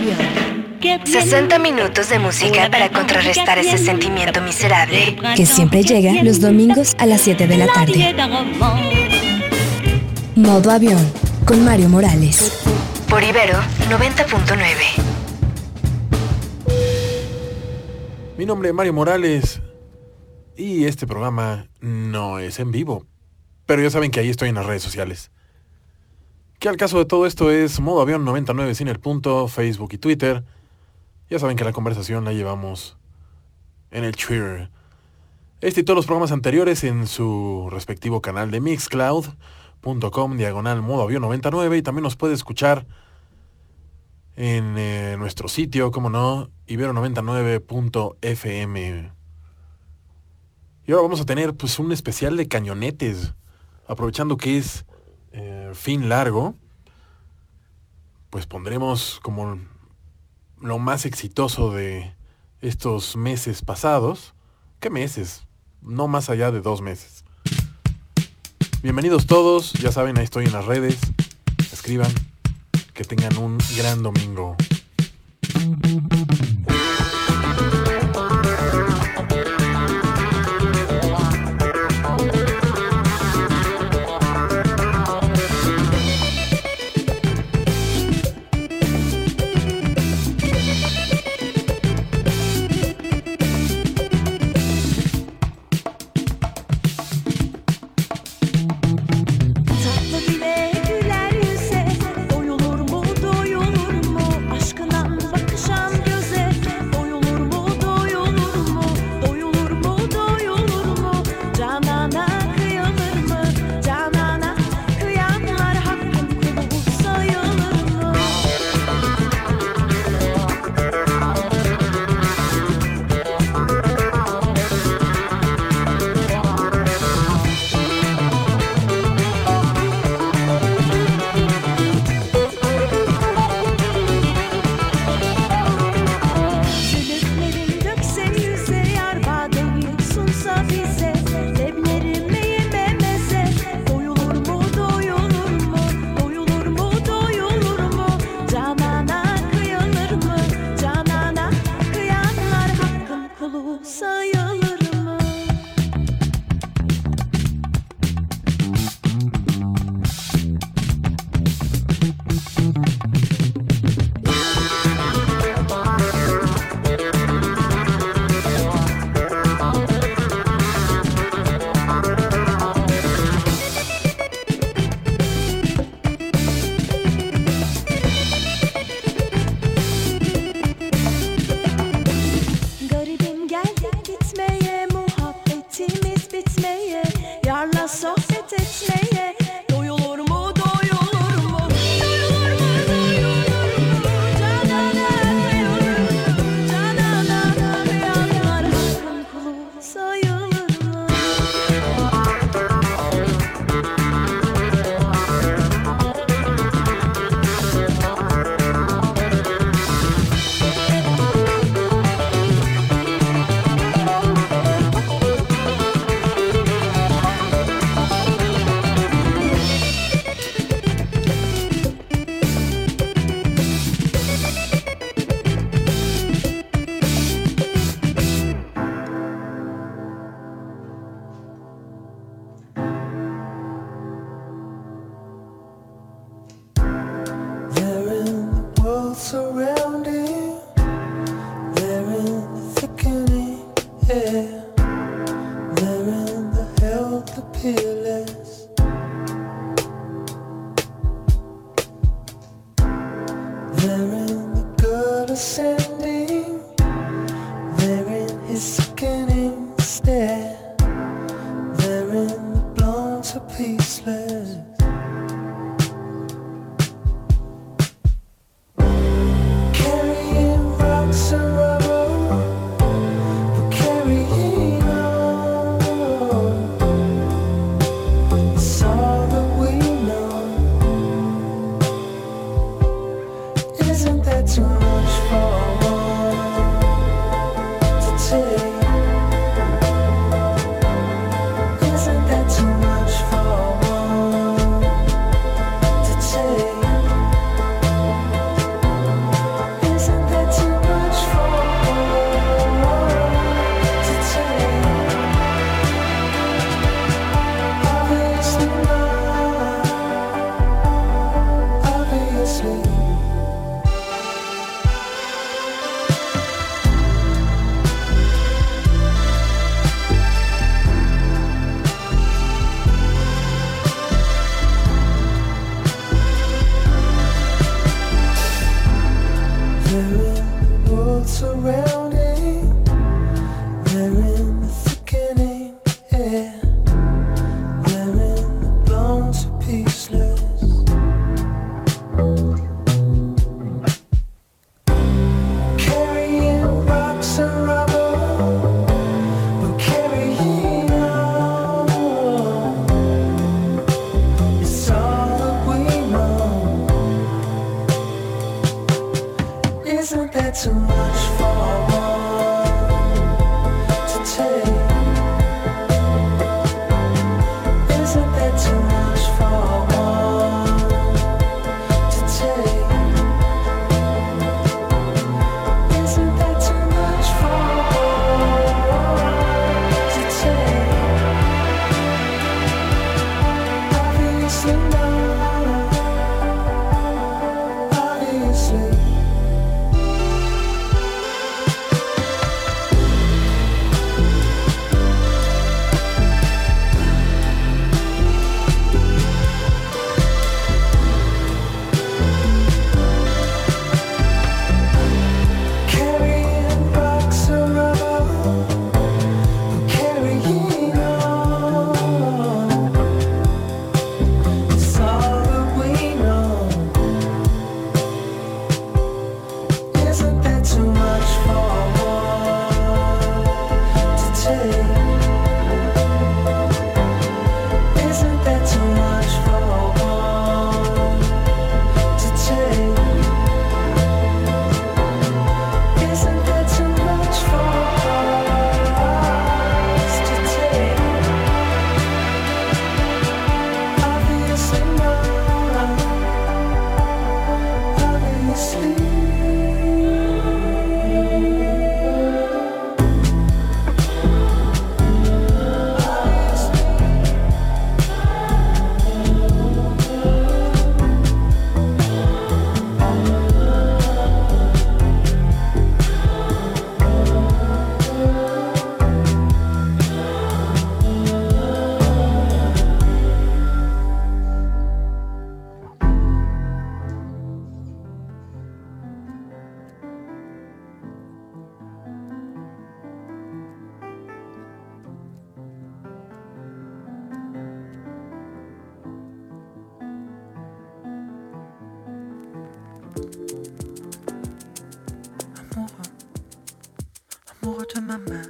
60 minutos de música para contrarrestar ese sentimiento miserable que siempre llega los domingos a las 7 de la tarde. Modo avión con Mario Morales. Por Ibero 90.9. Mi nombre es Mario Morales y este programa no es en vivo, pero ya saben que ahí estoy en las redes sociales. Que al caso de todo esto es Modo Avión 99 sin el punto, Facebook y Twitter. Ya saben que la conversación la llevamos en el Twitter. Este y todos los programas anteriores en su respectivo canal de mixcloud.com/Modo Avión 99 y también nos puede escuchar en nuestro sitio, como no, ibero99.fm. Y ahora vamos a tener pues un especial de cañonetes, aprovechando que es fin largo, pues pondremos como lo más exitoso de estos meses pasados. ¿Qué meses? No más allá de 2 meses. Bienvenidos todos, ya saben, ahí estoy en las redes. Escriban, que tengan un gran domingo. Isn't that too much for one? amoureux de ma mère,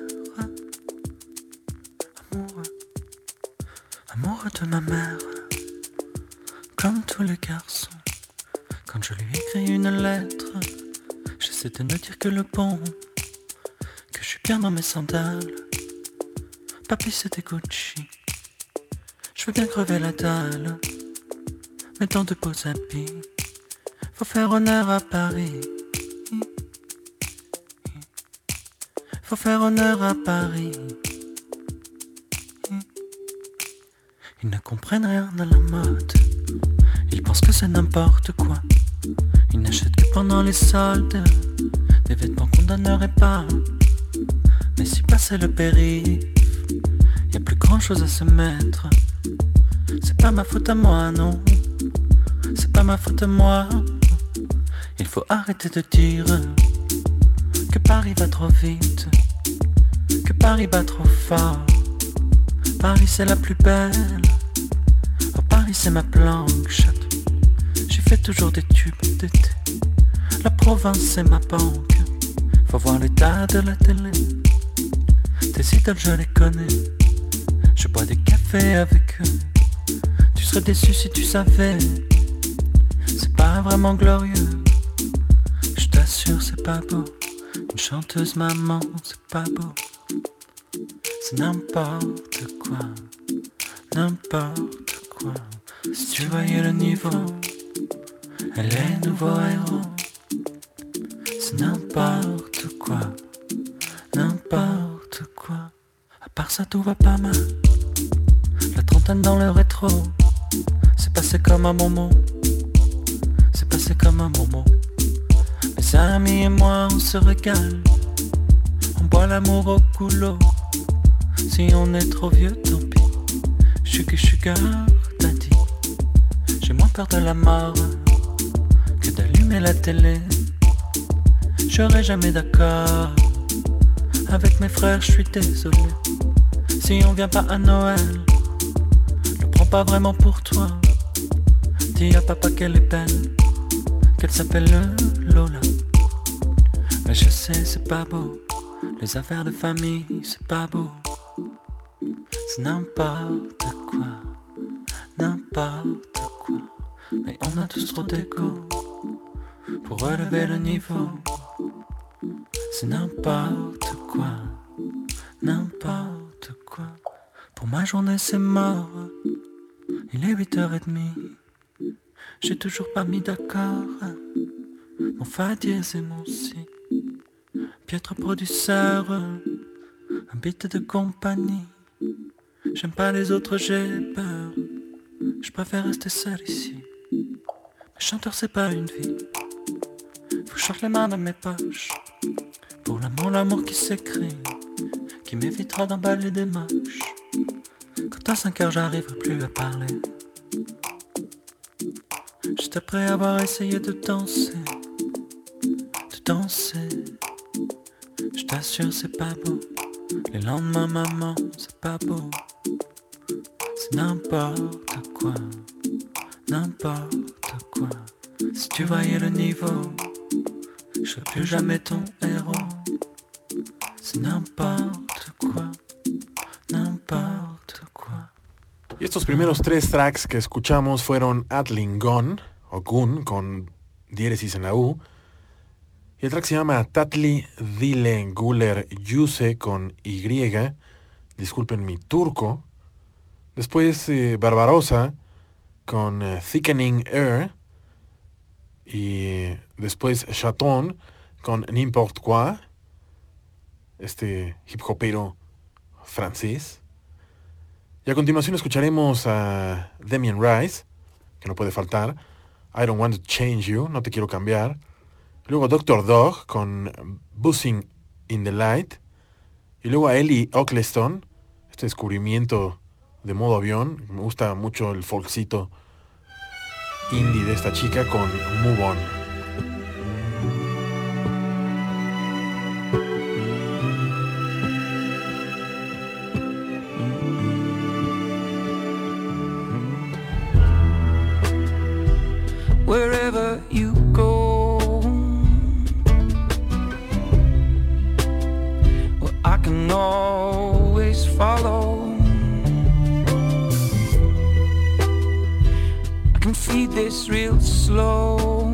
amoureux de ma mère, comme tous les garçons. Quand je lui écris une lettre, j'essaie de ne dire que le bon, que je suis bien dans mes sandales. Papi c'était Gucci, je veux bien crever la dalle, mais dans de beaux habits, faut faire honneur à Paris. Faut faire honneur à Paris. Ils ne comprennent rien à la mode, ils pensent que c'est n'importe quoi. Ils n'achètent que pendant les soldes des vêtements qu'on donnerait pas. Mais si passait le périph', y a plus grand chose à se mettre. C'est pas ma faute à moi, non, c'est pas ma faute à moi. Il faut arrêter de dire que Paris va trop vite, que Paris bat trop fort. Paris c'est la plus belle, oh Paris c'est ma planche. J'ai fait toujours des tubes d'été, la province c'est ma banque. Faut voir l'état de la télé, tes idoles je les connais. Je bois des cafés avec eux, tu serais déçu si tu savais. C'est pas vraiment glorieux, je t'assure c'est pas beau. Une chanteuse maman, c'est pas beau. C'est n'importe quoi, n'importe quoi. Si tu voyais le niveau, elle est nouveau héros. C'est n'importe quoi, n'importe quoi. À part ça tout va pas mal, la trentaine dans le rétro. C'est passé comme un moment, c'est passé comme un moment. Mes amis et moi on se régale, on boit l'amour au goulot. Si on est trop vieux tant pis, sugar daddy. J'ai moins peur de la mort que d'allumer la télé. Je serai jamais d'accord. Avec mes frères, je suis désolé. Si on vient pas à Noël, ne prends pas vraiment pour toi. Dis à papa qu'elle est belle, qu'elle s'appelle Lola. Mais je sais, c'est pas beau. Les affaires de famille, c'est pas beau. C'est n'importe quoi, n'importe quoi. Mais on a tous trop d'égo pour relever le niveau. C'est n'importe quoi, n'importe quoi. Pour ma journée c'est mort. Il est 8h30. J'ai toujours pas mis d'accord mon fa dièse et mon si. Piètre producteur, un beat de compagnie. J'aime pas les autres, j'ai peur. Je préfère rester seul ici. Mais chanteur c'est pas une vie. Faut que je sorte les mains dans mes poches. Pour l'amour qui s'écrit, qui m'évitera d'emballer des moches. Quand à 5 heures j'arriverai plus à parler. Juste après avoir essayé de danser. Je t'assure c'est pas beau. Les lendemains maman c'est pas beau. C'est n'importe quoi, n'importe quoi. Si tu voyais le niveau, je serais plus jamais ton héros. C'est n'importe quoi, n'importe quoi. Y estos primeros 3 tracks que escuchamos fueron Atling Gun, o Gun, con diéresis en la U. Y el track se llama Tatli Dile Guler Yuse, con Y. Disculpen mi turco. Después Barbarossa, con Thickening Air. Y después Chaton, con N'importe quoi. Este hip hopero francés. Y a continuación escucharemos a Damien Rice, que no puede faltar. I Don't Want to Change You, No Te Quiero Cambiar. Luego Dr. Dog con Buzzing in the Light. Y luego a Ellie Oakleston, este descubrimiento de modo avión. Me gusta mucho el folkcito indie de esta chica, con Move On. Wherever you go, well, I can always follow. I can feed this real slow.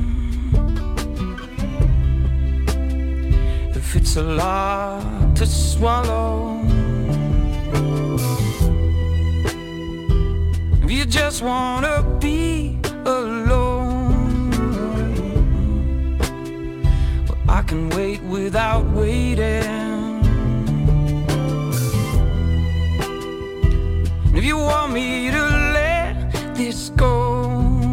If it's a lot to swallow, if you just wanna be alone, well, I can wait without waiting. And if you want me to let this go,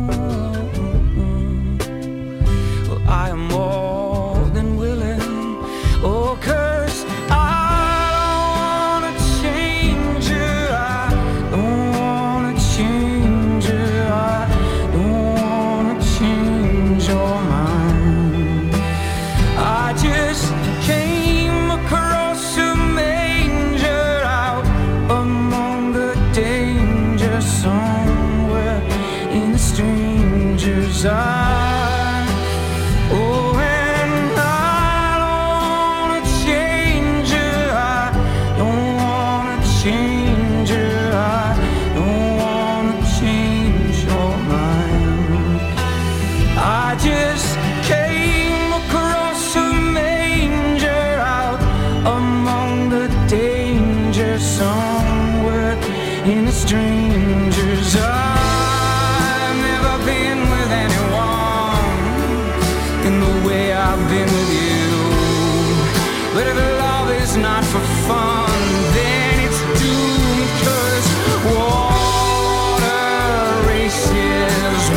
well, I am more than willing. Oh, 'cause I don't wanna change you. I don't wanna change you. I don't wanna change your mind. I just came across a manger out among the danger, somewhere in the stranger's eye. Oh, and I don't wanna change you. I don't wanna change you. I don't wanna change your mind. I just came across a manger out among the danger, somewhere in a stranger's eye. I've never been with anyone in the way I've been with you. But if love is not for fun, then it's doomed, 'cause water races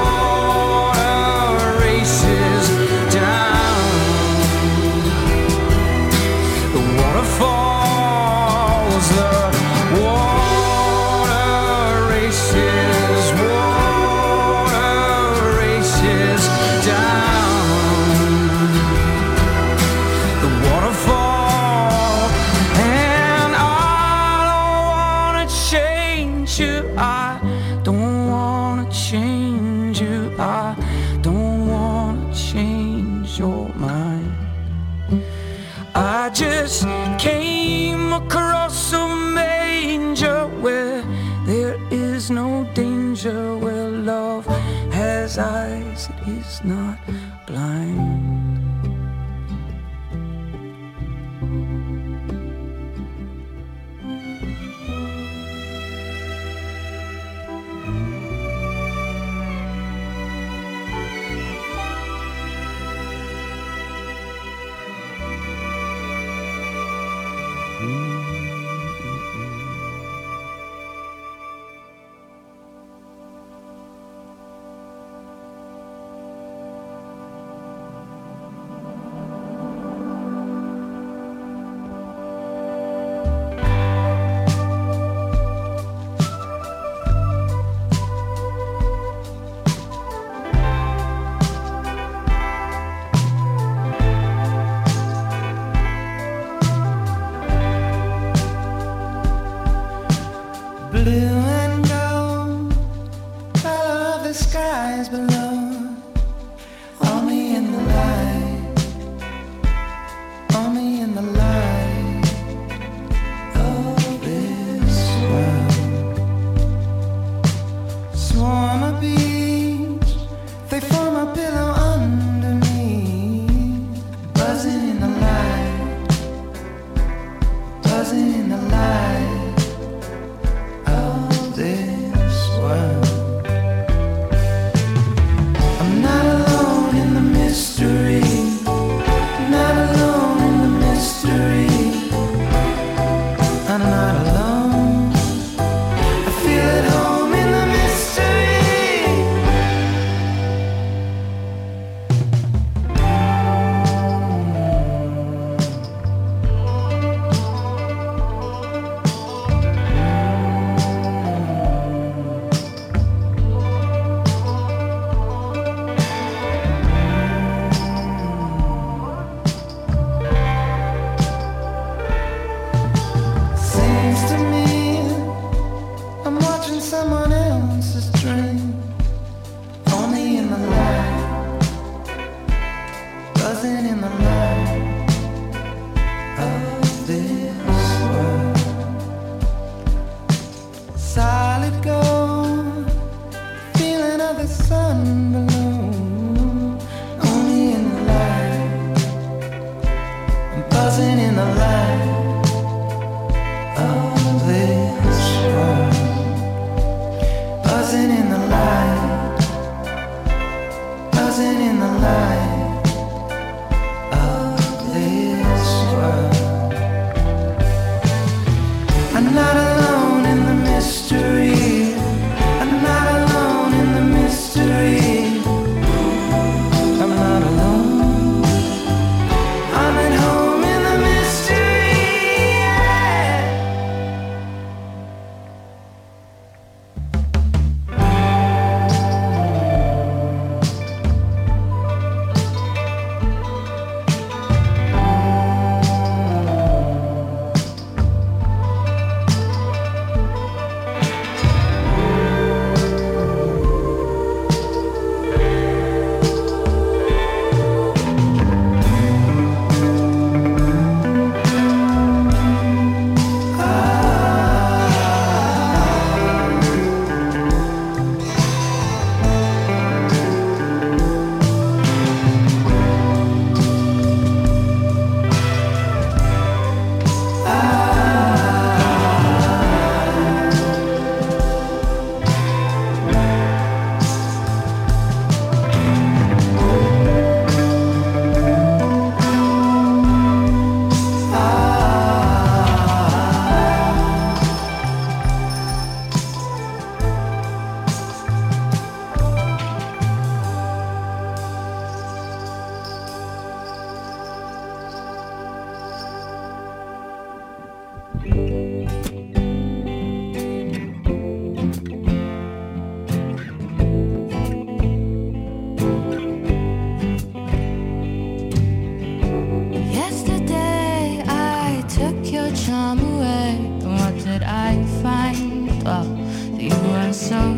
down. The water falls, the water races down. lose your mind. I just came across a manger where there is no danger, where love has eyes, it is not blind.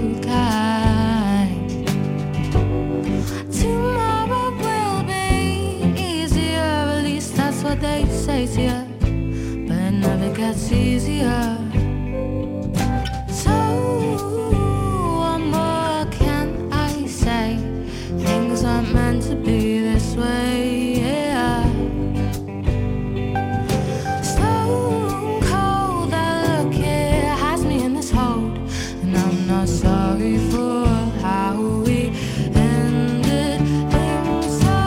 Tomorrow will be gets easier. So what more can I say? Things aren't meant to be this way, yeah. Stone cold, that look, it has me in this hold. And I'm not sorry for how we ended things. So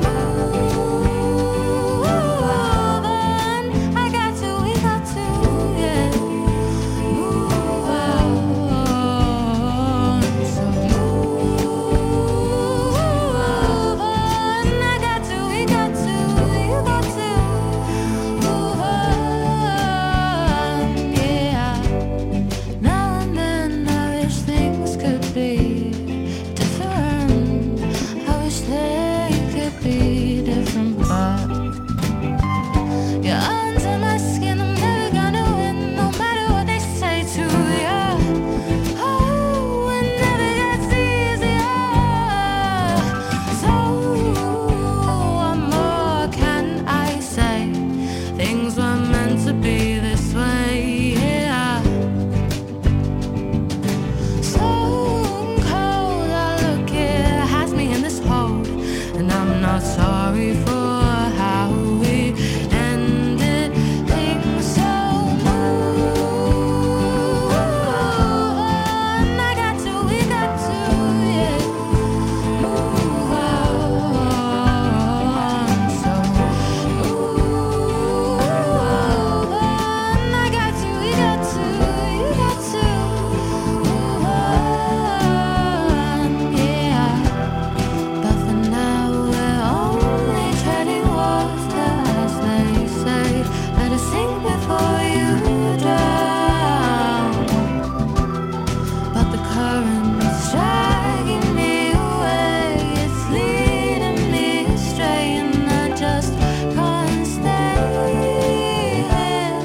move on. I got to, we got to, yeah. Move on. So move on. I got to, we got to, you got to move on, yeah. Now and then I wish things could be different. I wish they could be different, but you're under my skin. I'm never gonna win, no matter what they say to you. Oh, it never gets easier. So what more can I say? Things were meant to be this way, yeah. Stone cold, I look, it has me in this hold. And I'm not sorry for how we ended things. So move on. I got to, we got to, yeah. Move on. So move on. I got to, we got to, you got to move on, yeah. But for now we're only treading water, as they say. Better sink before you drown. But the current's dragging me away, it's leading me astray, and I just can't stay here.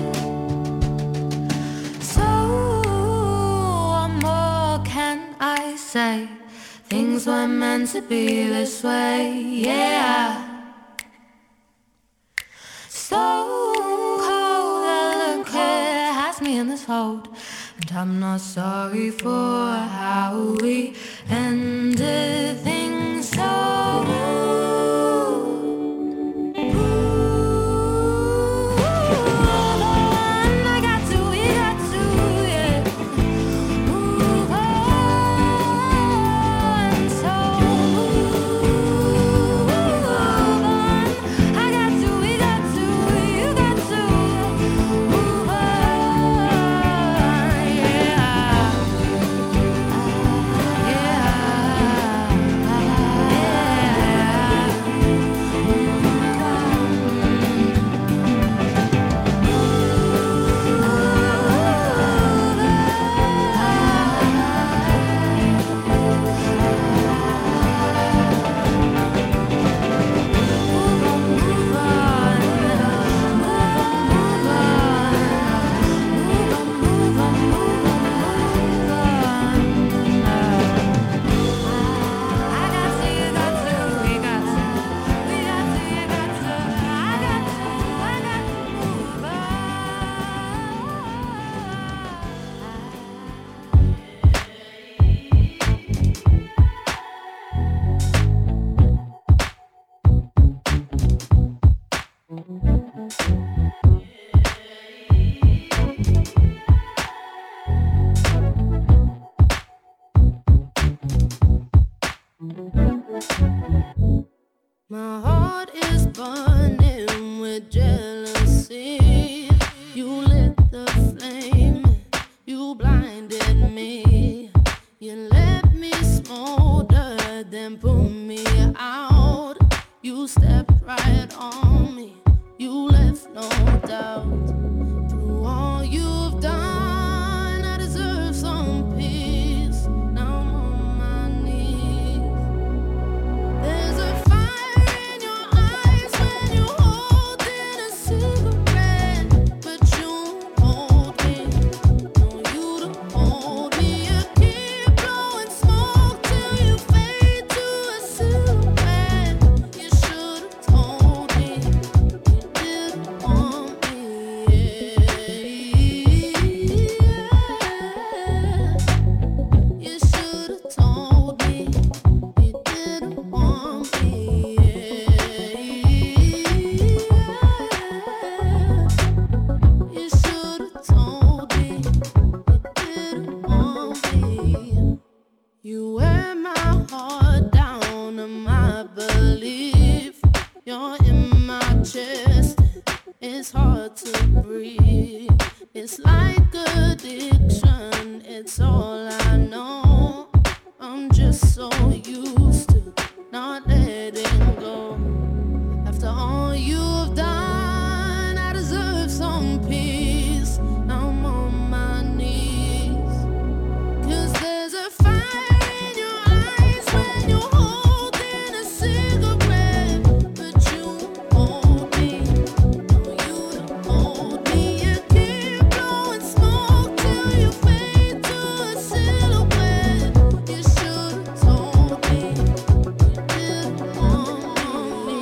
So what more can I say? Things were meant to be this way, yeah. Stone cold, that look, it has me in this hold. And I'm not sorry for how we ended things. So move on. I got to, we got to, yeah. Move on. So move on. I got to, we got to, you got to move on, yeah. My heart is burning with jealousy. You lit the flame, you blinded me. You let me smolder, then put me out. You stepped right on me, you left no doubt. Through all you've done, I deserve some peace. Now I'm on my knees. There's a fire in your eyes when you hold in a cigarette, but you hold me. No, you don't hold me. You keep blowing smoke till you fade to a silhouette. You should've told me you didn't want me. You're in my chest. It's hard to breathe. It's like addiction. It's all I know. I'm just so used to not letting go. After all you've done, I deserve some peace. Now I'm on my knees. 'Cause there's a fire in your eyes when you're holding a cigarette. But you hold me, no, you don't hold me. You keep blowing smoke till you fade to a silhouette. You should have told me you didn't want me.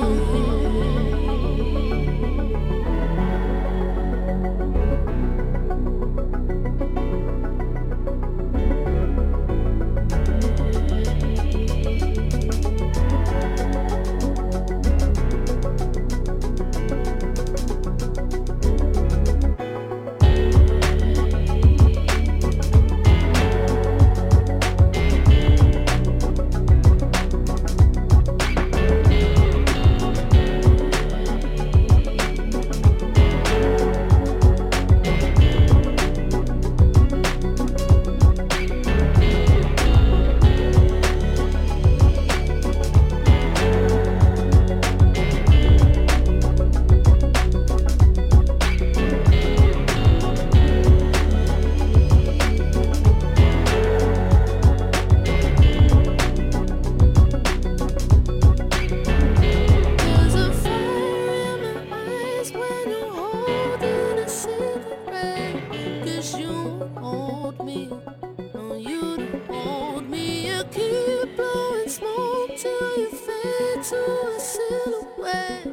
There's a fire in my eyes when you're holding a cigarette. 'Cause you hold me, no, you don't hold me. You keep blowing smoke till you fade to a silhouette.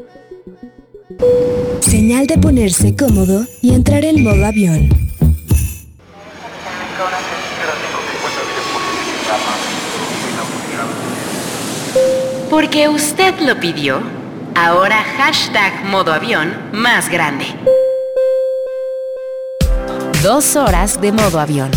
Señal de ponerse cómodo y entrar en modo avión. Porque usted lo pidió, ahora hashtag modo avión más grande. 2 horas de modo avión.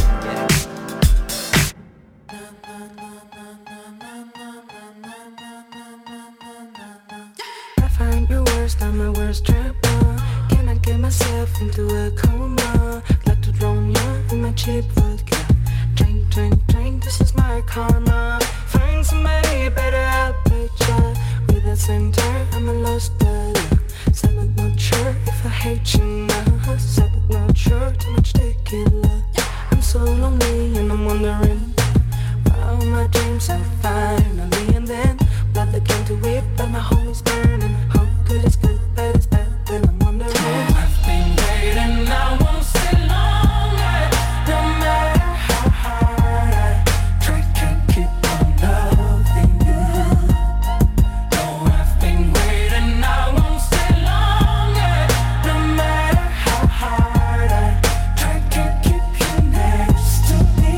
I find your worst, I'm my worst trouble. Can I get myself into a coma? Like to drown you in my cheap vodka. Drink, drink, drink, this is my karma. Find somebody better, I'll play ya. With a center, I'm a lost dollar. Said I'm not sure if I hate you now. Said I'm not sure, too much tequila. I'm so lonely and I'm wondering why all my dreams are finally. And then blood that came to it, but my home is burning. How good is good, bad is bad, then I'm wondering. I've been waiting, I won't stay long. No matter how hard I try, can't keep on loving you. No, I've been waiting, I won't stay long. No matter how hard I try, can't keep you next to me.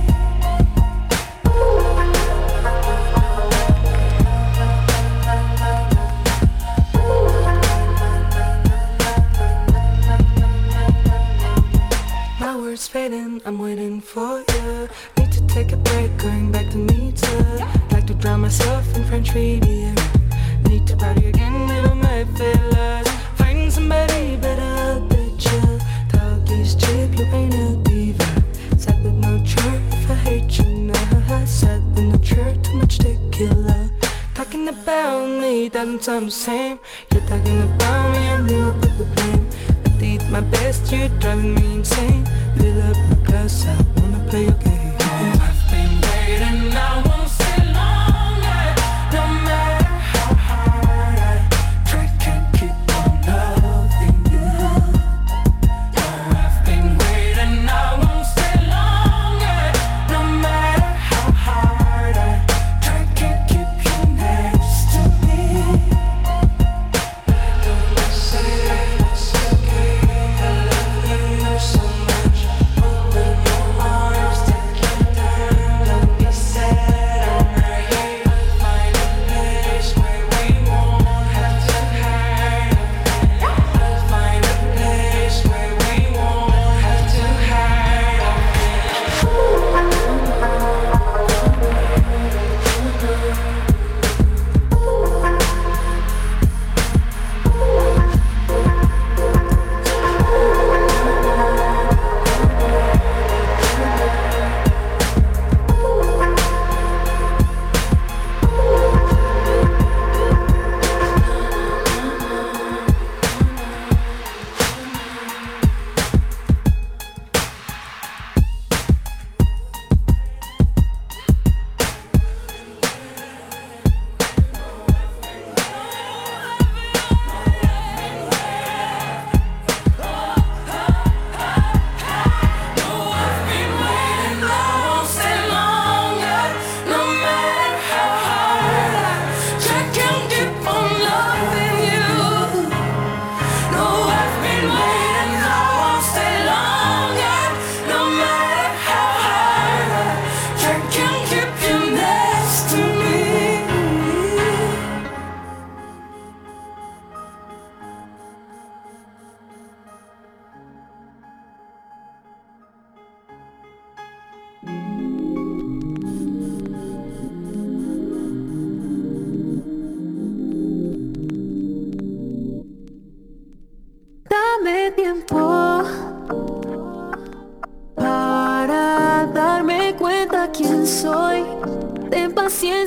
My words fading, I'm waiting for you. Need to take a break, going back to meet you. Like to drown myself in French Riviera. Need to party again with all my fellas. Find somebody better, I'll bet you. Talk is cheap, you ain't a diva. Said but not sure if I hate you now. Said but not sure, too much tequila. Talking about me doesn't sound the same. You're talking about me and you put the blame. I did my best, you're driving me insane. Fill up my glass, I wanna play your game. I've been waiting, I won't stay long. No matter how hard I try, can't keep on loving you. No, I've been waiting, I won't stay long. No matter how hard I try, can't keep you next to me. Don't say it's okay, I love you so much. Open your arms, take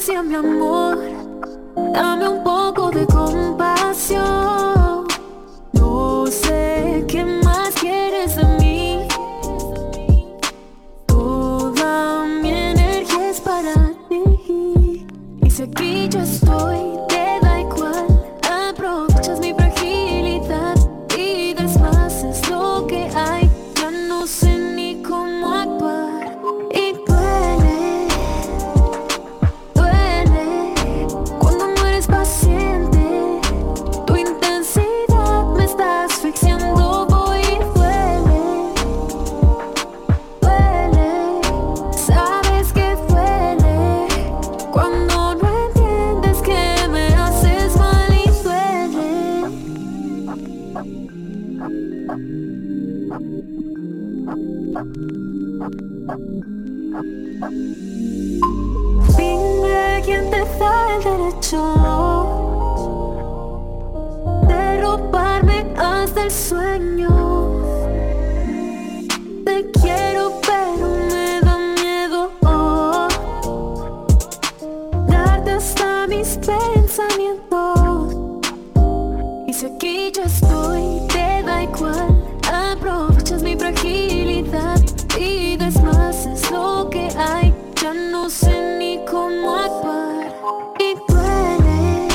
paciencia, mi amor. Dame un poco de compasión. No sé qué más quieres de mí. Toda mi energía es para ti. Y si aquí yo estoy, te da igual. Aprovechas mi fragilidad y das más, es lo que hay. Ya no sé ni cómo actuar. Y duele, duele cuando no eres paciente. Tu intensidad me está asfixiando. Voy y duele, duele. Sabes que duele cuando no entiendes que me haces mal y duele. Dime quién te da el derecho de robarme hasta el sueño. Te quiero pero me da miedo darte hasta mis pensamientos. Y si aquí yo estoy, te da igual. Aprovechas mi fragilidad y das más, es lo que hay. Ya no sé ni cómo actuar. Y duele,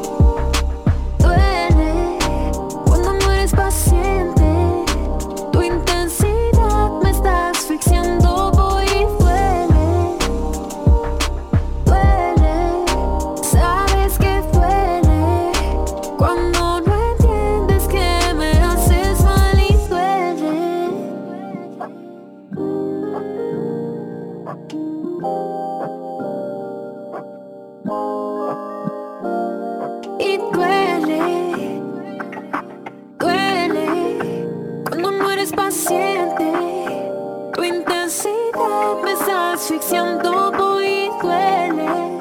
duele cuando no eres paciente. Tu intensidad me está asfixiando. Voy y duele, duele. Sabes que duele cuando no entiendes que me haces mal y duele. Y duele, duele cuando no eres paciente. Tu intensidad me está asfixiando. Voy y duele,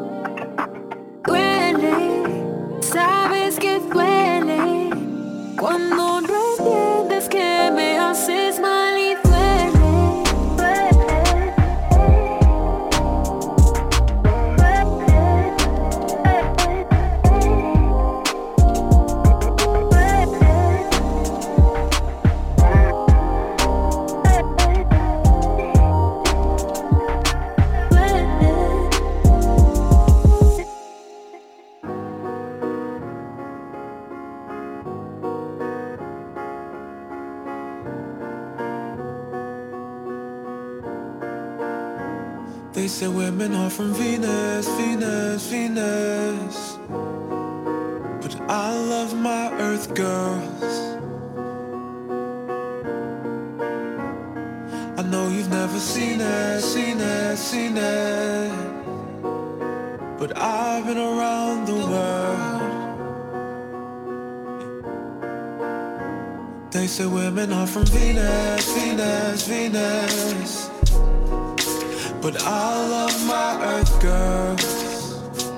duele. Sabes que duele cuando no entiendes que me haces mal y duele. They say women are from Venus, Venus, Venus. But I love my Earth girls. I know you've never seen it, seen it, seen it. But I've been around the world. They say women are from Venus, Venus, Venus. But I love my Earth girls.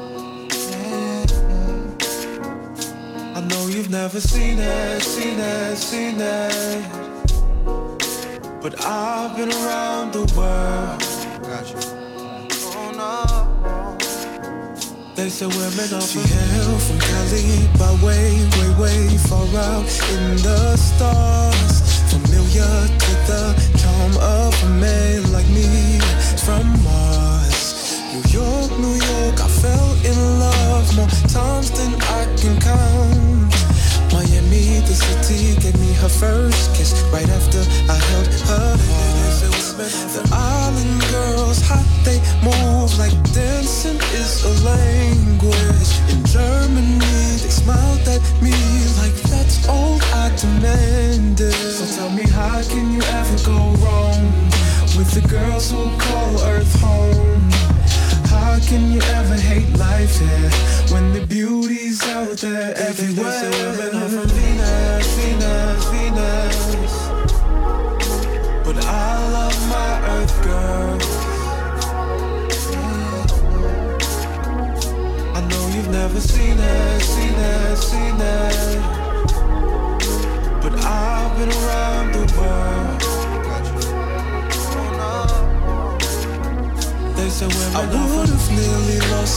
I know you've never seen it, seen it, seen it. But I've been around the world. Gotcha. Oh no. They say women are from hail from Cali by way, way, way far out in the stars. Familiar to the charm of a man like me. From Mars, New York, New York, I fell in love more times than I can count. Miami, the city, gave me her first kiss right after I held her heart. The island girls, hot, they move like dancing is a language. In Germany, they smiled at me like that's all I demanded. So tell me, how can you ever go wrong with the girls who call Earth home? How can you ever hate life here when the beauty's out there everywhere? They say women are from Venus, Venus, Venus. But I love my Earth girls. I know you've never seen it, seen it, seen it. But I've been around the world. They say women I would've nearly lost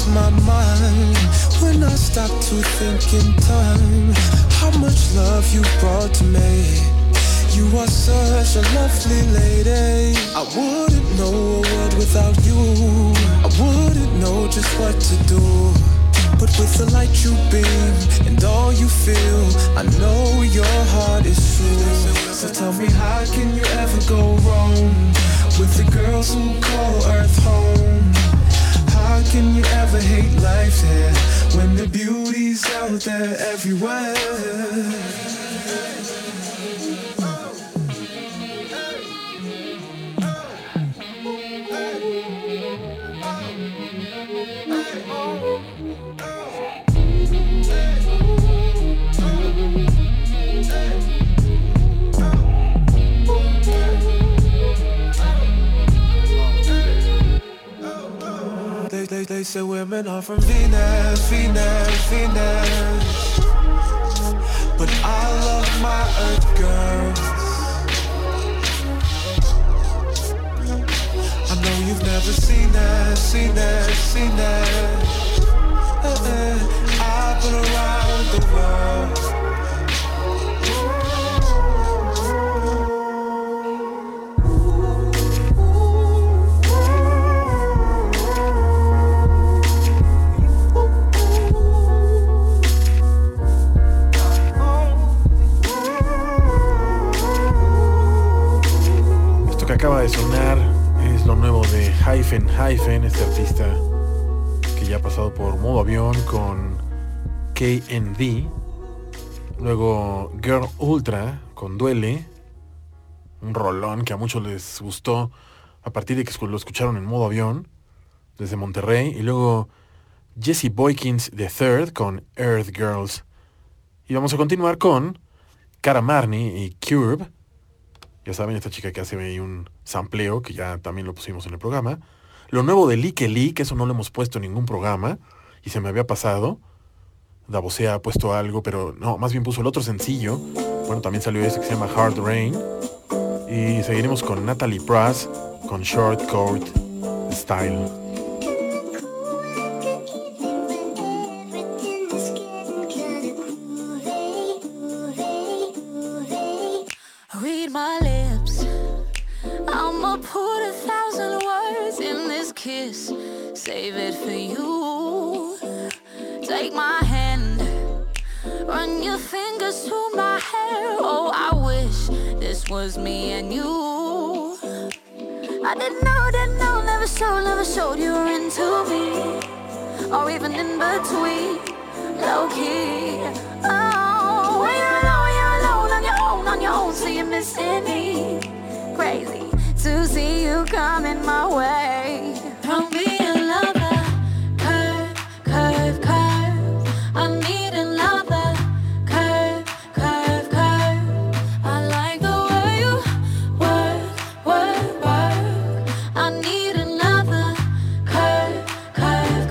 I stop to think in time how much love you brought to me. You are such a lovely lady. I wouldn't know a world without you. I wouldn't know just what to do. But with the light you beam and all you feel, I know your heart is true. So tell me, how can you ever go wrong with the girls who call Earth home? How can you ever hate life here when the beauty's out there everywhere? They say women are from Venus, Venus, Venus. But I love my Earth girls. I know you've never seen that, seen that, seen that. I've been around the world. Que acaba de sonar es lo nuevo de Hyphen, este artista que ya ha pasado por Modo Avión con KND, luego Girl Ultra con Duele, un rolón que a muchos les gustó a partir de que lo escucharon en Modo Avión desde Monterrey, y luego Jesse Boykins The Third con Earth Girls. Y vamos a continuar con Cara Marni y Curb. Ya saben, esta chica que hace ahí un sampleo, que ya también lo pusimos en el programa. Lo nuevo de Like Lee, que eso no lo hemos puesto en ningún programa, y se me había pasado. Davosea ha puesto algo, pero no, más bien puso el otro sencillo. Bueno, también salió ese que se llama Hard Rain. Y seguiremos con Natalie Prass, con Short Coat Style. Read my lips, I'ma put 1,000 words in this kiss, save it for you. Take my hand, run your fingers through my hair. Oh, I wish this was me and you. I didn't know, never showed you were into me, or even in between, low key. Oh, when you're alone on your own, so you're missing me. Crazy to see you coming my way. Don't be a lover, curve, curve, curve. I need another curve, curve, curve. I like the way you work, work, work. I need another curve, curve,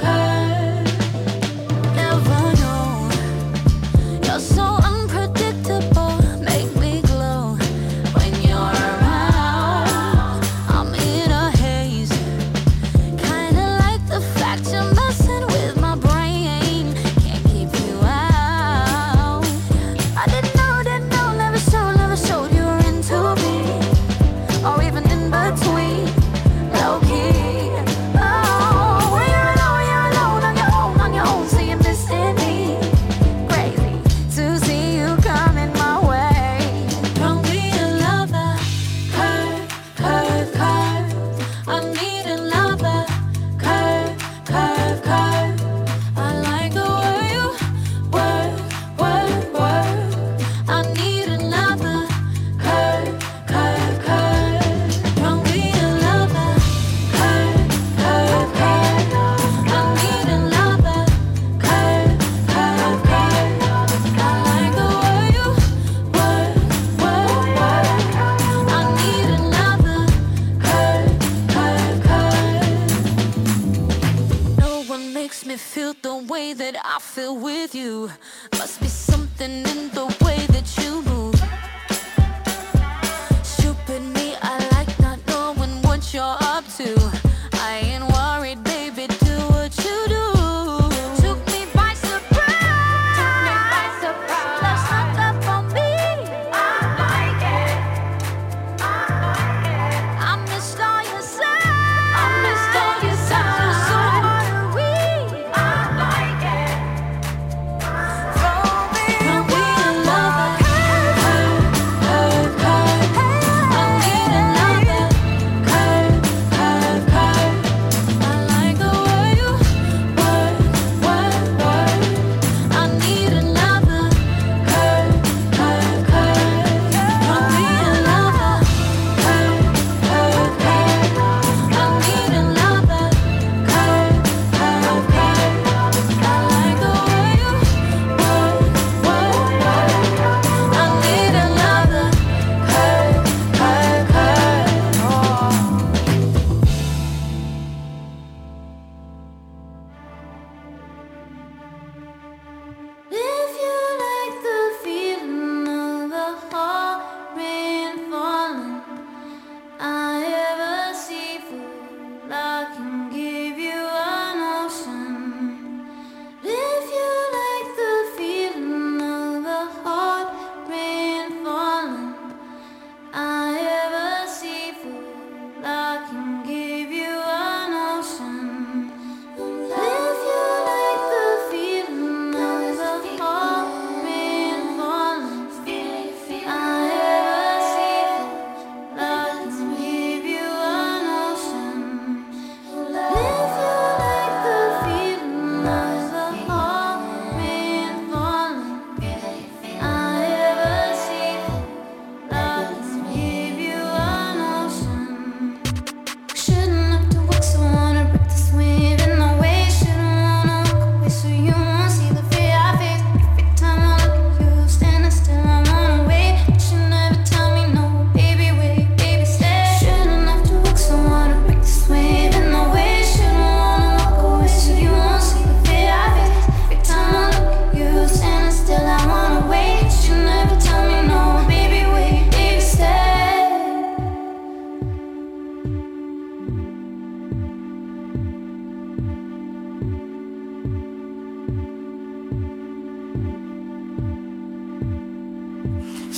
curve. Never known, you're so unpredictable. Make me glow when you're around. I'm in a haze, kinda like the fact you're messing with my brain. Can't keep you out. I didn't know, never showed you were into me, or even in between, low key. Oh, when you're alone on your own, so you're missing me. Crazy to see you coming my way. Don't be a lover, curve, curve, curve. I need another curve, curve, curve. I like the way you work, work, work. I need another curve, curve, curve. Don't be a lover, curve, curve, curve. I need another curve, curve, curve. I like the way you work, work, work. I need another curve, curve, curve. No one makes me feel the way that I feel with you. Must be something in the way that you move. Stupid me, I like not knowing what you're up to. I ain't worried, baby, do what you do. Took me by surprise.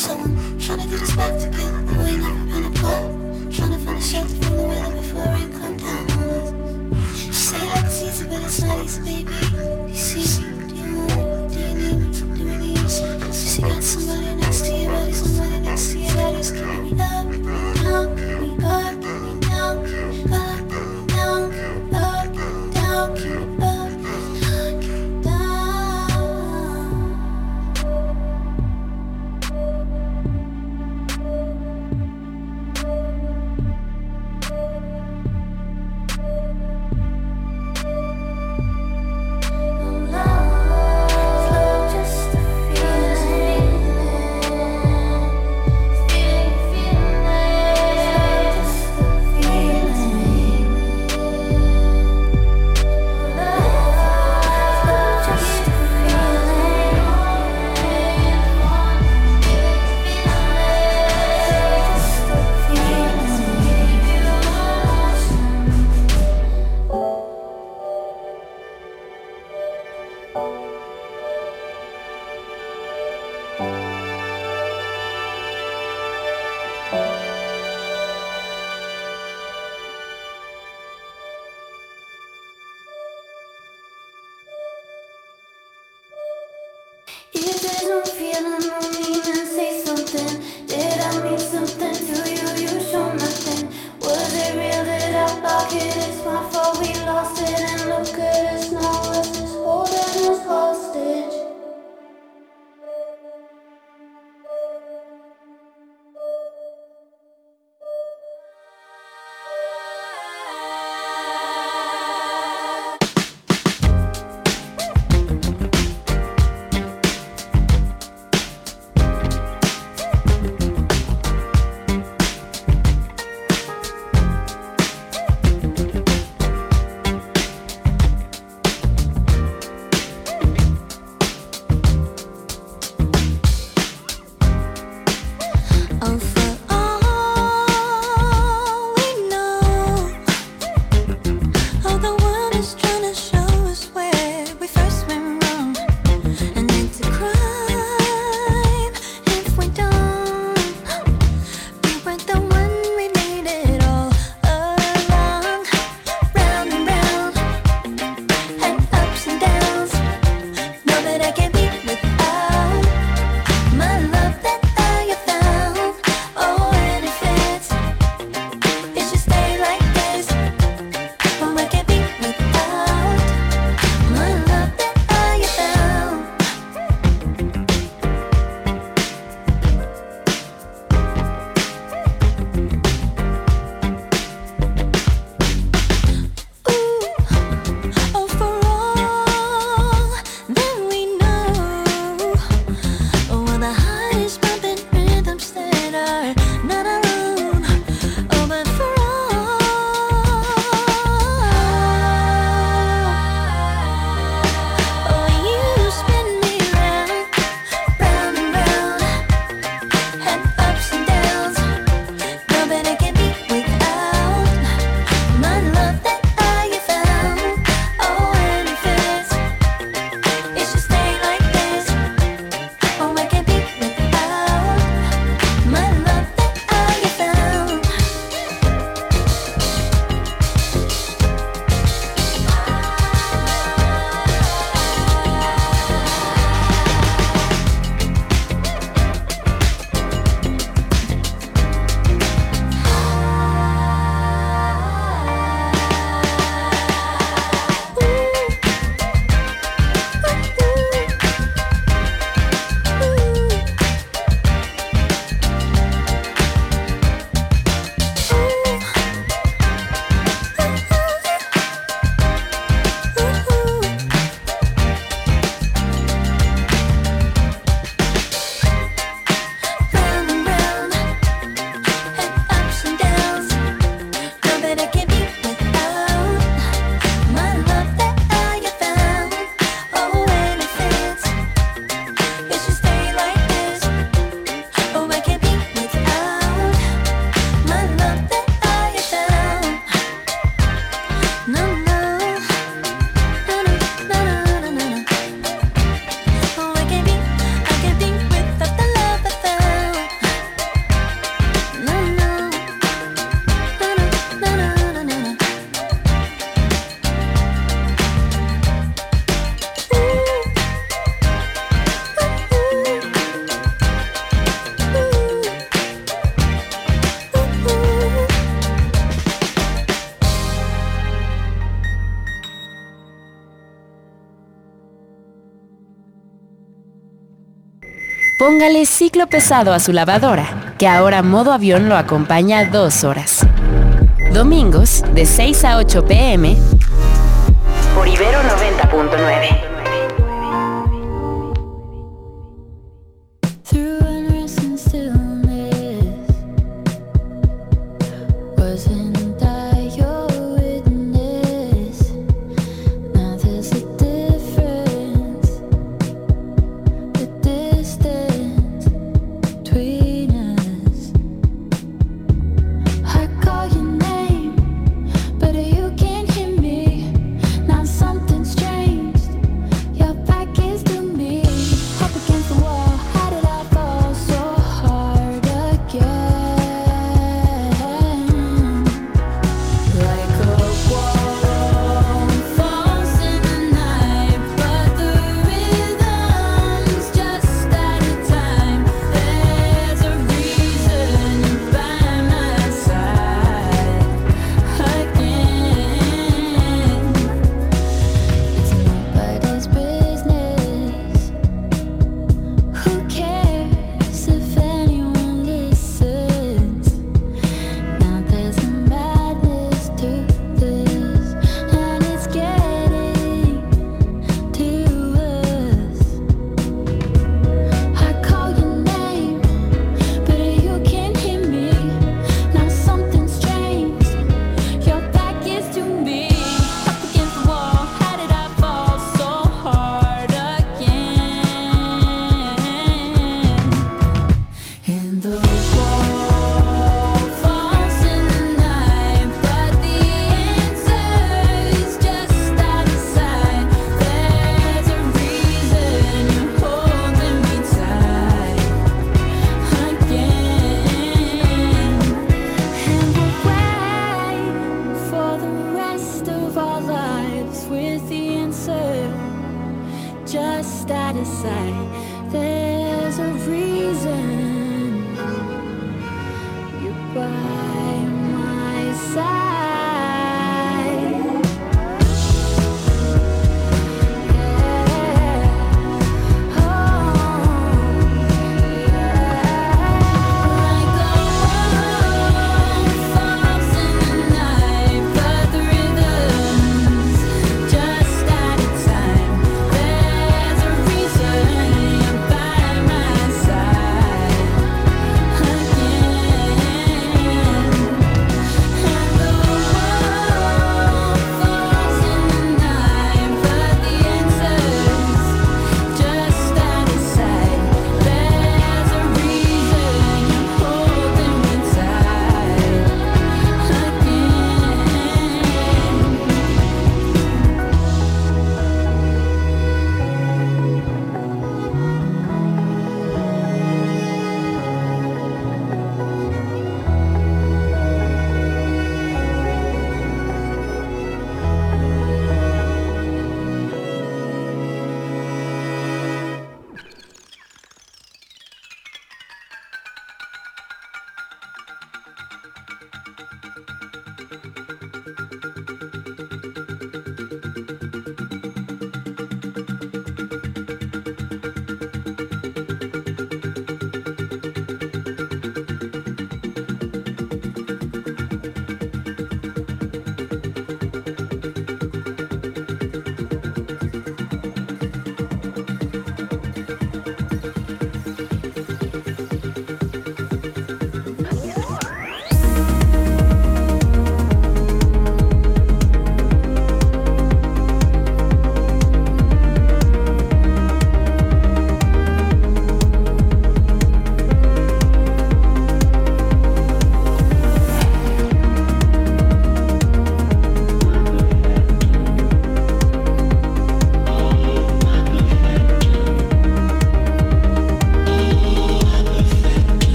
someone trying to get us back together, but we never been apart. Trying to find a shelter from the weather before rain come down on us. You say like it's easy, but it's not easy, baby. You see me? Do you want me? Do you need me? Do we need you? Since you got somebody next to you, buddy, somebody next to you that is keeping me up, down, keep me up, keep me down, up, down, up, down, keep me up. If there's no feeling, no meaning, say something. Did I mean something to you? You show nothing. Was it real? Did I block it? It's my fault we lost it. And look at us now, us just holding us hostage. Póngale ciclo pesado a su lavadora, que ahora modo avión lo acompaña 2 horas. Domingos, de 6 a 8 p.m. por Ibero 90.9. But you can't hear me. Now something's changed.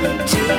only two.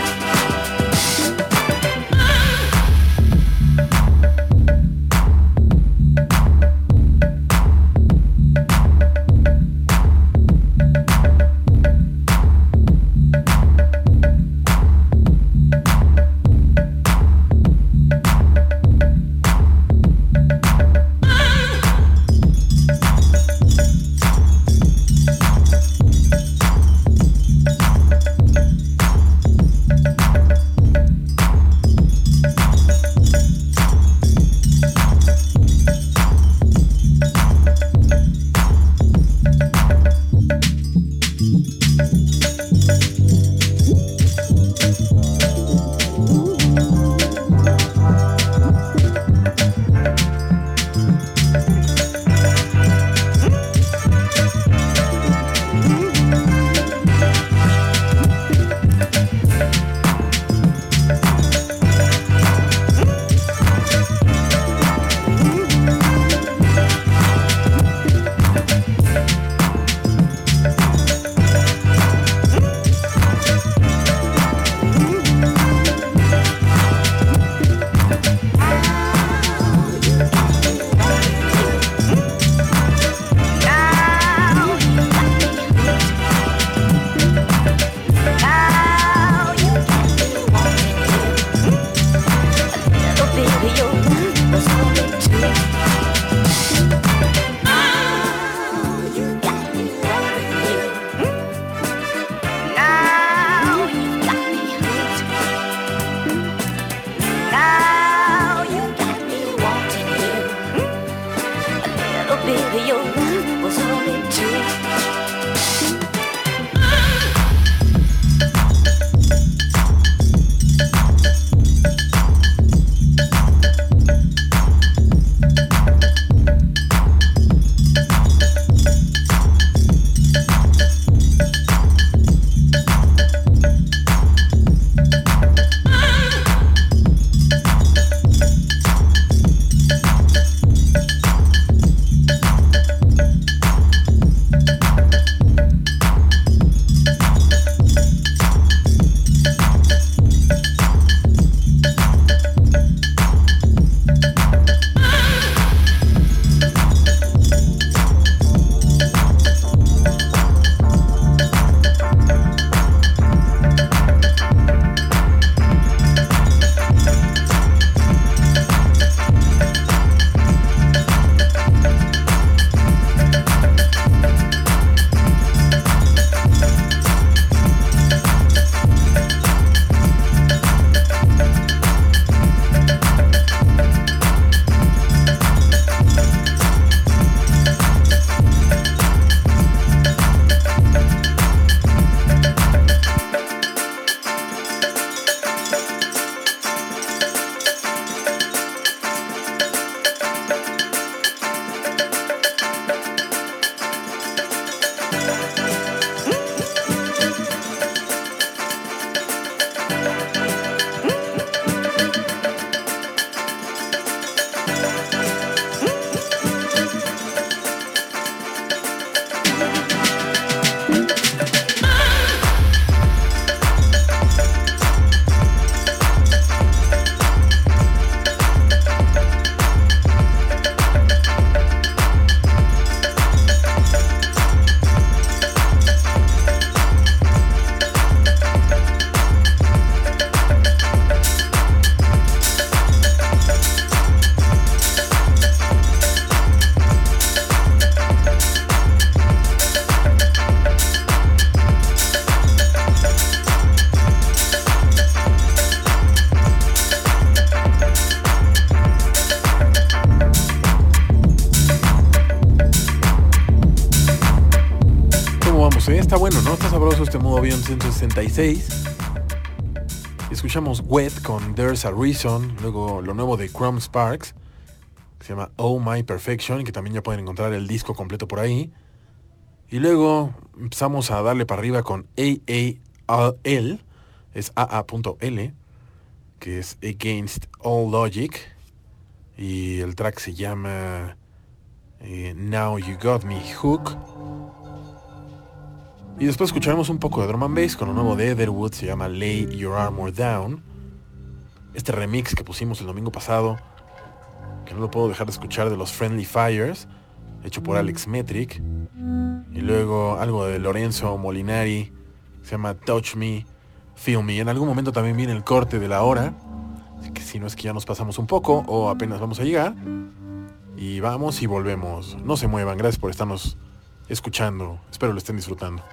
Está bueno, ¿no? Está sabroso este modo avión 166. Escuchamos Wet con There's a Reason. Luego lo nuevo de Chrome Sparks, que se llama Oh My Perfection, que también ya pueden encontrar el disco completo por ahí. Y luego empezamos a darle para arriba con AAL, es AA.L, que es Against All Logic. Y el track se llama Now You Got Me Hook. Y después escucharemos un poco de drum and bass con lo nuevo de Etherwood, se llama Lay Your Armor Down. Este remix que pusimos el domingo pasado, que no lo puedo dejar de escuchar, de los Friendly Fires, hecho por Alex Metric. Y luego algo de Lorenzo Molinari, se llama Touch Me, Feel Me. En algún momento también viene el corte de la hora, así que si no es que ya nos pasamos un poco o apenas vamos a llegar. Y vamos y volvemos. No se muevan, gracias por estarnos escuchando. Espero lo estén disfrutando.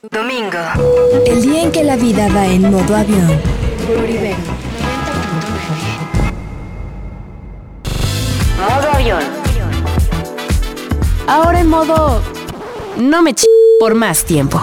Domingo. El día en que la vida va en modo avión. Por Ibero. Modo avión. Ahora en modo... No me por más tiempo.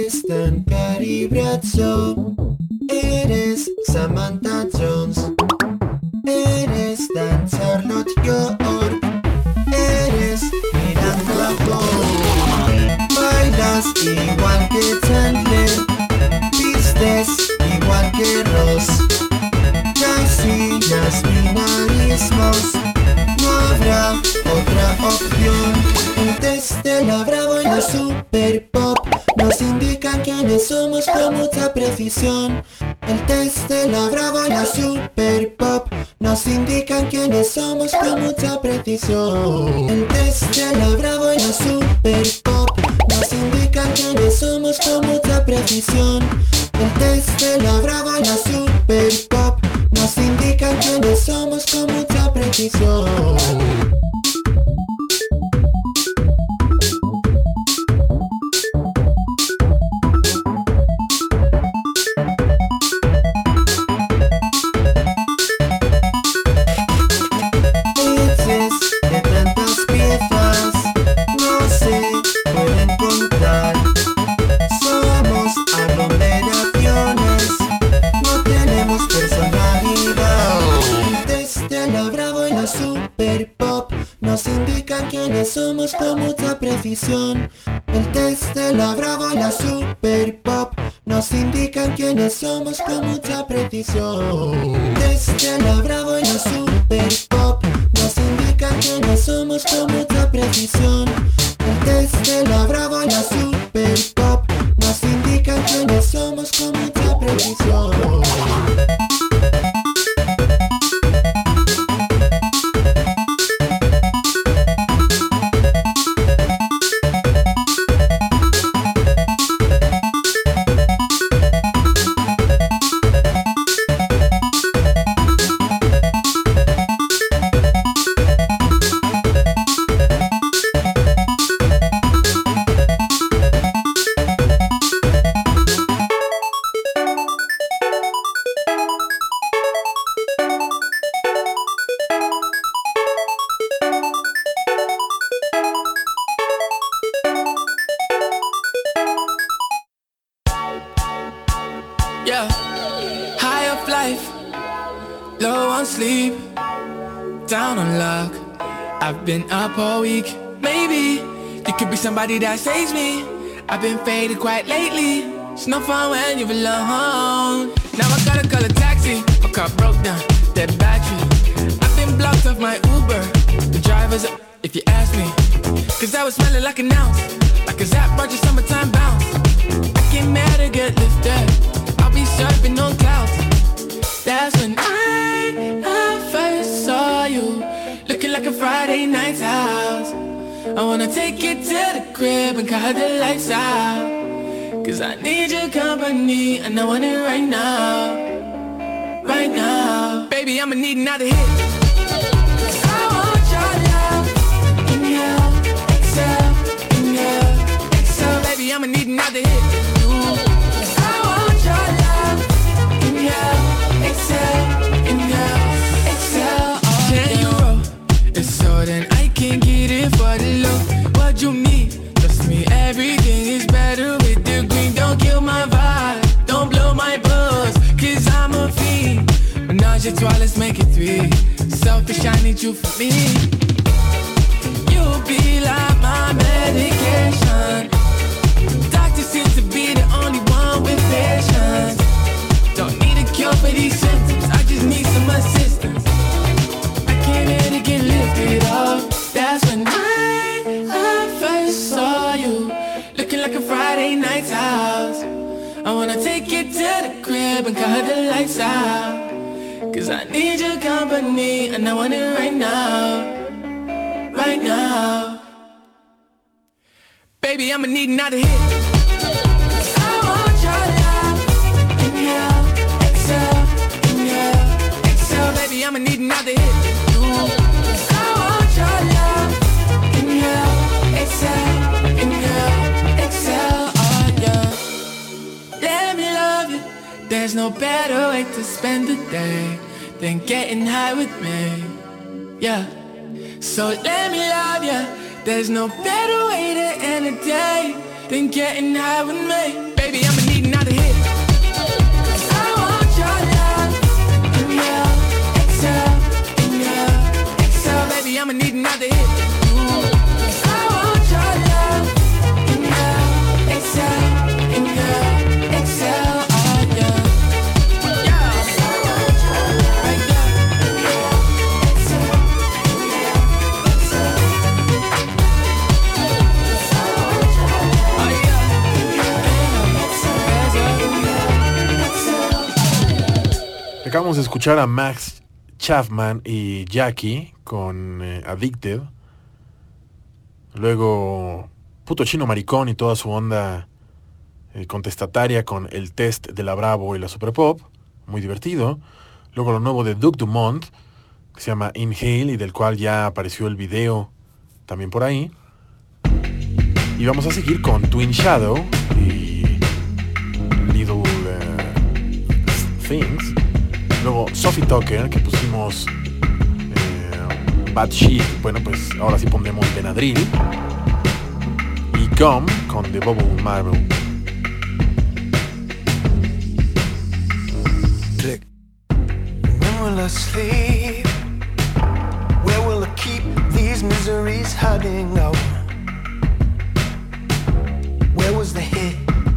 Tristan Caribrazzo. Eres Samantha Jones. Eres Dan Charlotte York. Eres Miranda Ball. Bailas igual que Chandler. Vistes igual que Ross. Casi mismos. No habrá otra opción. El test de la Bravo y la Super Pop nos indican quiénes somos con mucha precisión. El test de la Bravo y la Super Pop nos indican quiénes somos con mucha precisión. El test de la Bravo y la Super Pop nos indican quiénes somos con mucha precisión. El test de la Bravo y la Super Pop nos indican quiénes somos con mucha precisión. Somos con mucha precisión. El test de la Bravo y la Super Pop nos indican quiénes somos con mucha precisión. El test de la Bravo y la Super Pop nos indican quiénes somos con mucha precisión. El test de la Bravo y la Super Pop nos indican quiénes somos con mucha precisión. Been up all week, maybe you could be somebody that saves me. I've been faded quite lately. It's no fun when you're alone. Now I gotta call a taxi. My car broke down, dead battery. I've been blocked off my Uber. The driver's up, if you ask me. Cause I was smelling like an ounce, like a Zap Roger summertime bounce. I came mad to get lifted. I'll be surfing on clouds. That's when I first saw you. Looking like a Friday night's house. I wanna take you to the crib and cut the lights out. Cause I need your company and I want it right now. Right now. Baby, I'ma need another hit. Cause I want your love. Inhale, exhale, inhale, exhale. Baby, I'ma need another hit. Cause I want your love. Inhale, exhale, inhale, exhale. Can you roll? So then I can get it for the low. What you need? Trust me, everything is better with the green. Don't kill my vibe, don't blow my buzz. Cause I'm a fiend. Menage a trois, let's make it three. Selfish, I need you for me. You'll be like my medication. Doctor seems to be the only one with patience. Don't need a cure for these symptoms, I just need some assistance. To get lifted up. That's when I first saw you. Looking like a Friday night's house. I wanna take you to the crib and cut the lights out. Cause I need your company and I want it right now. Right now. Baby, I'ma need another hit. Cause I want your love. Inhale, exhale, inhale, exhale. Baby, I'ma need another hit. There's no better way to spend the day than getting high with me, yeah. So let me love ya. There's no better way to end a day than getting high with me. Acabamos de escuchar a Max Chapman y Jackie con Addicted. Luego Puto Chino Maricón y toda su onda contestataria con El Test de la Bravo y la Super Pop, muy divertido. Luego lo nuevo de Duke Dumont, que se llama Inhale y del cual ya apareció el video también por ahí. Y vamos a seguir con Twin Shadow y Little Things. Luego Sophie Tucker, que pusimos Bad Shit. Bueno, pues ahora sí pondremos Benadryl. Y Gum con The Bubble Marble. Click. When will I sleep? Where will I keep these miseries hiding out? Where was the hit?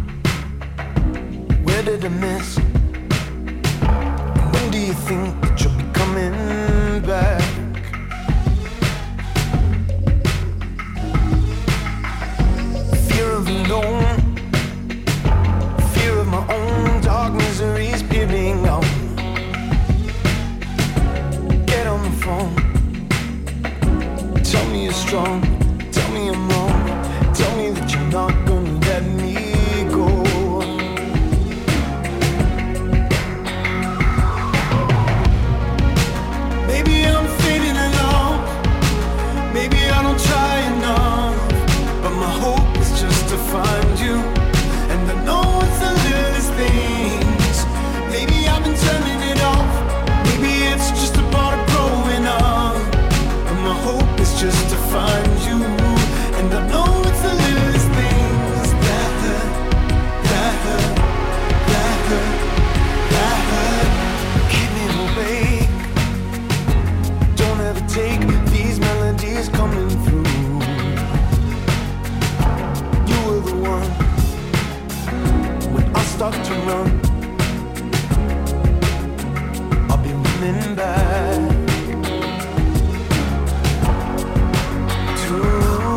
Where did I miss? When do you think that you'll be coming back? Fear of alone, fear of my own dark miseries peering out. Get on the phone, tell me you're strong, tell me I'm wrong, tell me that you're not gonna let me go. Maybe I'm fading along, maybe I don't try enough, but my hope is just to find you, and I know it's the littlest things. Maybe I've been turning it off, maybe it's just a part of growing up, but my hope is just to find you, and I know it's the littlest things that hurt, that hurt, that hurt, that hurt. Keep me awake, don't ever take these melodies coming through. You were the one when I start to run, I'll be running back to you.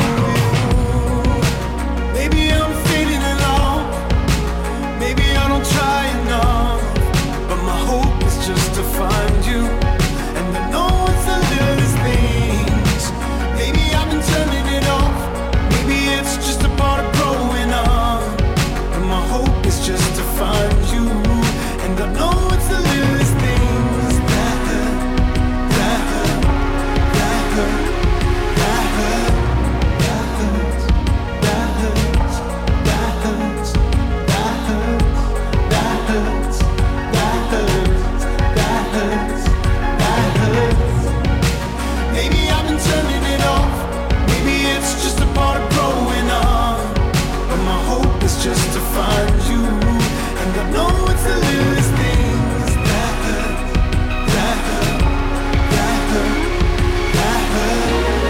Maybe I'm fading along, maybe I don't try enough, but my hope is just to find you, and I know it's the littlest things. Maybe I've been turning it off, maybe it's just a part of growing up, but my hope is just to find you, and I know it's the littlest things that hurt, that hurt, that hurt, that hurt, that hurts, that hurts, that hurts, that hurts, that hurts, that hurts, that hurts, that hurts. Maybe I've been turning it off, maybe it's just a part of growing up, but my hope is just to find you, and I know it's the littlest things that hurt, that hurt, that hurt, that hurt.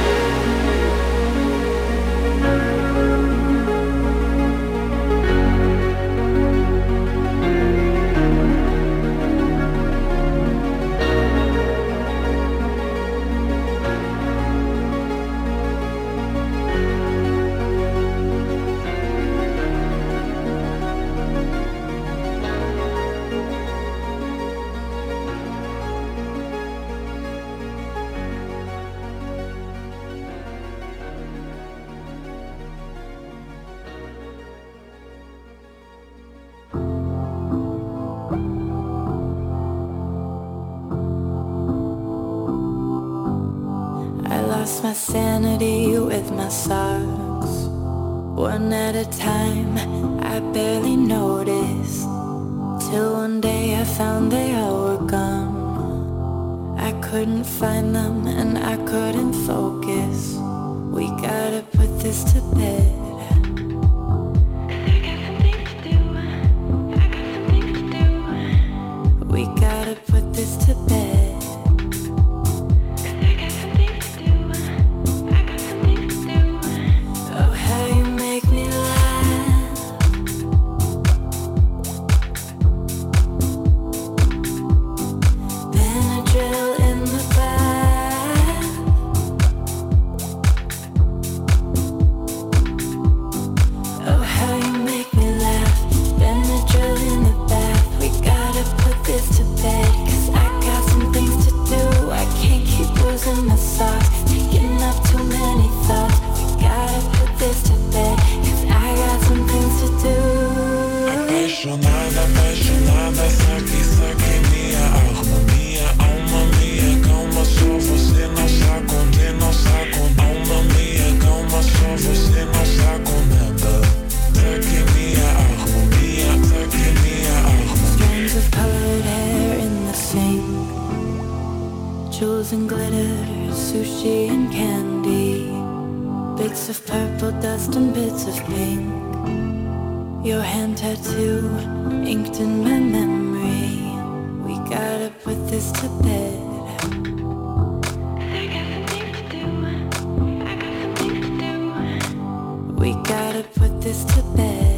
I lost my sanity with my socks, one at a time. I barely noticed, till one day I found they all were gone. I couldn't find them and I couldn't focus. We gotta put this to bed. We gotta put this to bed. Oh, how you make me laugh. Benadryl in the bath. dust and bits of pink. Your hand tattoo inked in my memory. We gotta put this to bed. We gotta put this to bed.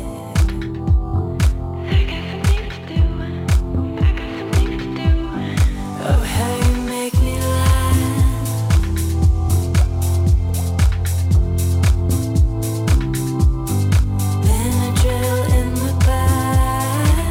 Oh, how you make me laugh. Benadryl in the bath.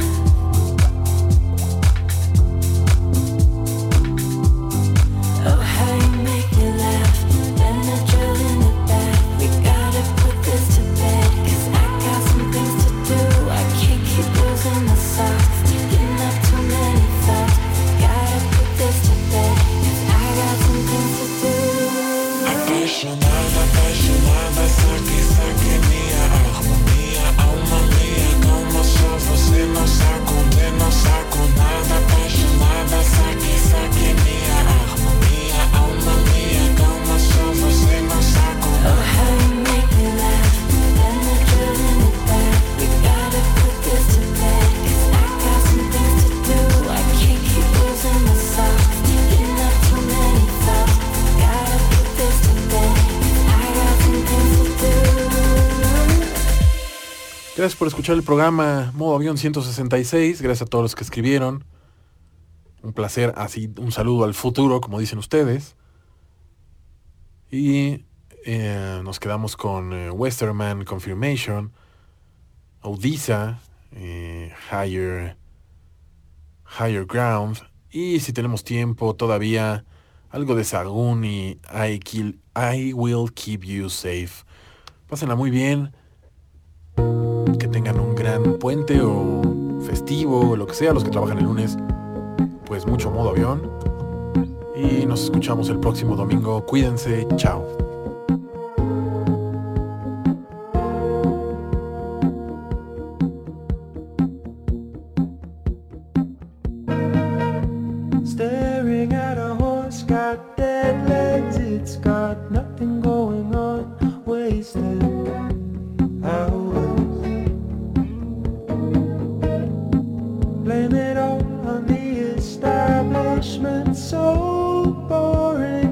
Oh, how you make me laugh. Benadryl in the bath. We gotta put this to bed, 'cause I got some things to do. I can't keep losing my socks, getting up too many thoughts. Gotta put this to bed, 'cause I got some things to do. Apaixonada, apaixonada, saque, saque minha alma minha, como só você não sabe, condena, não saco nada. Apaixonada, saque, saque minha alma minha, como só você não sabe. Oh, how you make me laugh. Benadryl in the bath. We gotta put this to bed, 'cause I got some things to do. I can't keep losing my socks, getting up too many thoughts. Gotta put this to bed, 'cause I got some things to do. Gracias por escuchar el programa Modo Avión 166. Gracias a todos los que escribieron. Un placer, así un saludo al futuro, como dicen ustedes. Y nos quedamos con Westerman, Confirmation, Odisha, Higher Ground. Y si tenemos tiempo todavía, algo de Sargun y I Will Keep You Safe. Pásenla muy bien. Que tengan un gran puente o festivo o lo que sea. Los que trabajan el lunes, pues mucho Modo Avión. Y nos escuchamos el próximo domingo. Cuídense. Chao. Staring at a horse, got dead legs, it's got nothing going on, wasted hours. Blame it all on the establishment, so boring.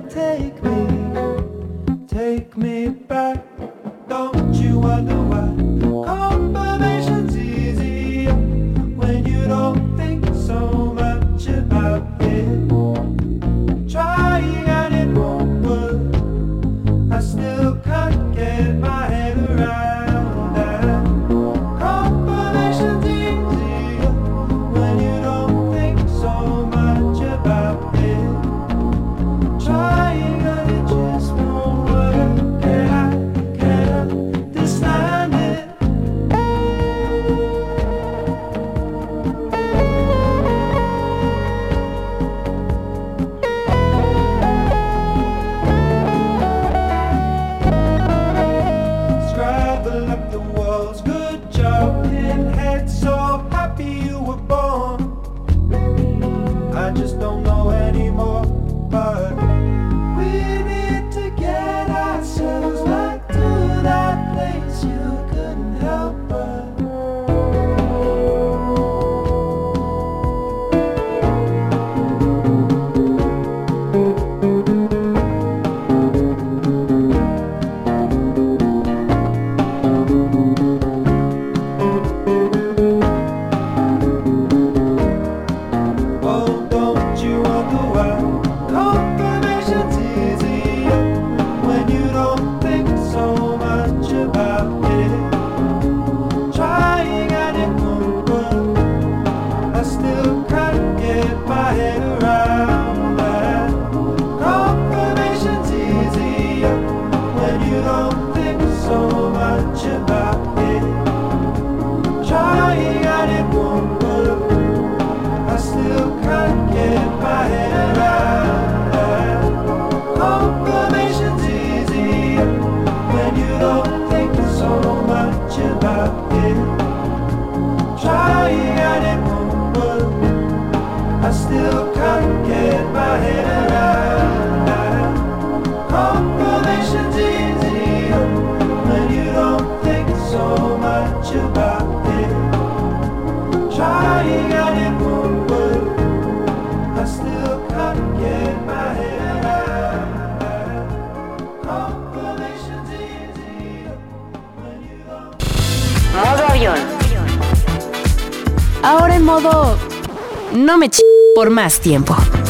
Take me back. Don't you wonder why confirmation's easier when you don't think so much about it? Trying and it won't work. I still can't get my head around that. Confirmation's easier when you don't think so much about it. Trying and it just won't work. Can't understand it. Scrabble up the walls, good job, pinhead, so happy you were born. I just don't know anymore, but we need to get ourselves back to that place you couldn't help but. Oh, don't you wonder why confirmation's easier when you don't think so much about it? Trying and it won't work. I still can't get my head around that. Confirmation's easier when you don't think so much about it. Trying and it won't work. I still can't get my head around that. Confirmation's easier when you don't think so much about it. Trying and it won't work. I still can't get my head around that. Confirmation's easier when you don't trying out it won't work. I still can't get my head around. Confirmation's easy when you don't. Modo avión. Ahora en modo... No me por más tiempo.